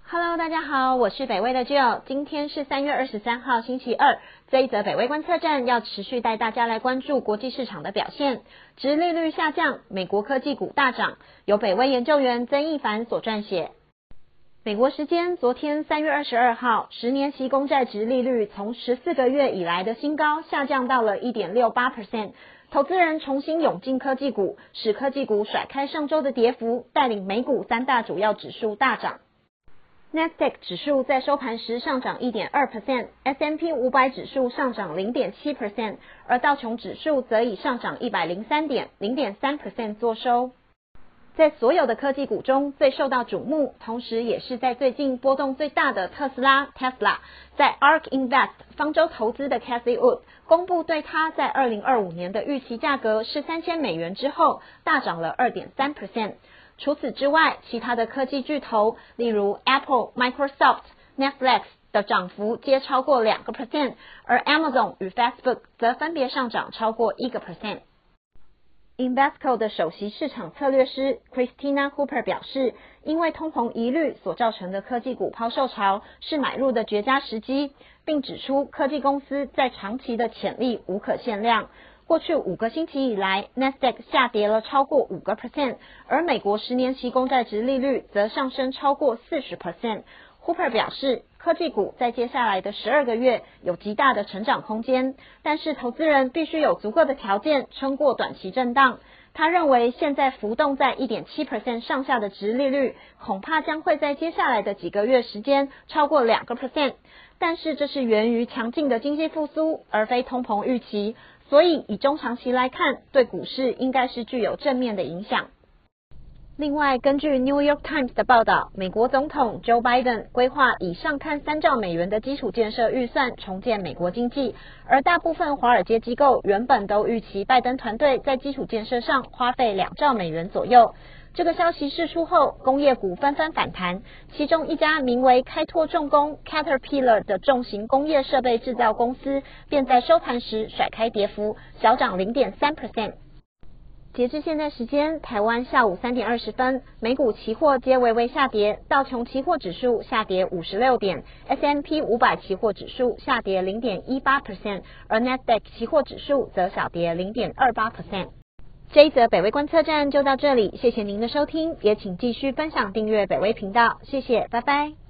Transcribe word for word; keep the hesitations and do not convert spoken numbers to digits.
Hello， 大家好，我是北威的 Jill， 今天是三月二十三号星期二。这一则北威观测站要持续带大家来关注国际市场的表现。殖利率下降，美国科技股大涨，由北威研究员曾一凡所撰写。美国时间昨天三月二十二号，十年期公债殖利率从十四个月以来的新高下降到了 百分之一点六八， 投资人重新涌进科技股，使科技股甩开上周的跌幅，带领美股三大主要指数大涨。Nasdaq 指数在收盘时上涨 百分之一点二 ，S and P 五百 指数上涨 百分之零点七， 而道琼指数则以上涨一百零三点 百分之零点三 作收。在所有的科技股中最受到瞩目，同时也是在最近波动最大的特斯拉 Tesla， 在 A R K Invest 方舟投资的 Cathie Wood 公布对它在二零二五年的预期价格是三千美元之后，大涨了 百分之二点三。除此之外，其他的科技巨头，例如 Apple、Microsoft、Netflix 的涨幅皆超过 百分之二， 而 Amazon 与 Facebook 则分别上涨超过 百分之一。Invesco 的首席市场策略师 Christina Cooper 表示，因为通膨疑虑所造成的科技股抛售潮是买入的绝佳时机，并指出科技公司在长期的潜力无可限量。过去五个星期以来 ，Nasdaq 下跌了超过 百分之五， 而美国十年期公债殖利率则上升超过 百分之四十。Hooper 表示，科技股在接下来的十二个月有极大的成长空间，但是投资人必须有足够的条件撑过短期震荡。他认为现在浮动在 百分之一点七 上下的殖利率，恐怕将会在接下来的几个月时间超过 百分之二， 但是这是源于强劲的经济复苏，而非通膨预期，所以以中长期来看，对股市应该是具有正面的影响。另外，根据 New York Times 的报道，美国总统 Joe Biden 规划以上看三兆美元的基础建设预算重建美国经济，而大部分华尔街机构原本都预期拜登团队在基础建设上花费两兆美元左右。这个消息释出后，工业股纷纷反弹，其中一家名为开拓重工 Caterpillar 的重型工业设备制造公司便在收盘时甩开跌幅，小涨 百分之零点三。截至现在时间，台湾下午三点二十分，美股期货皆微微下跌，道琼期货指数下跌五十六点 ，S and P 五百 期货指数下跌 百分之零点一八， 而 Nasdaq 期货指数则小跌 百分之零点二八。这一则北威观测站就到这里，谢谢您的收听，也请继续分享订阅北威频道，谢谢，拜拜。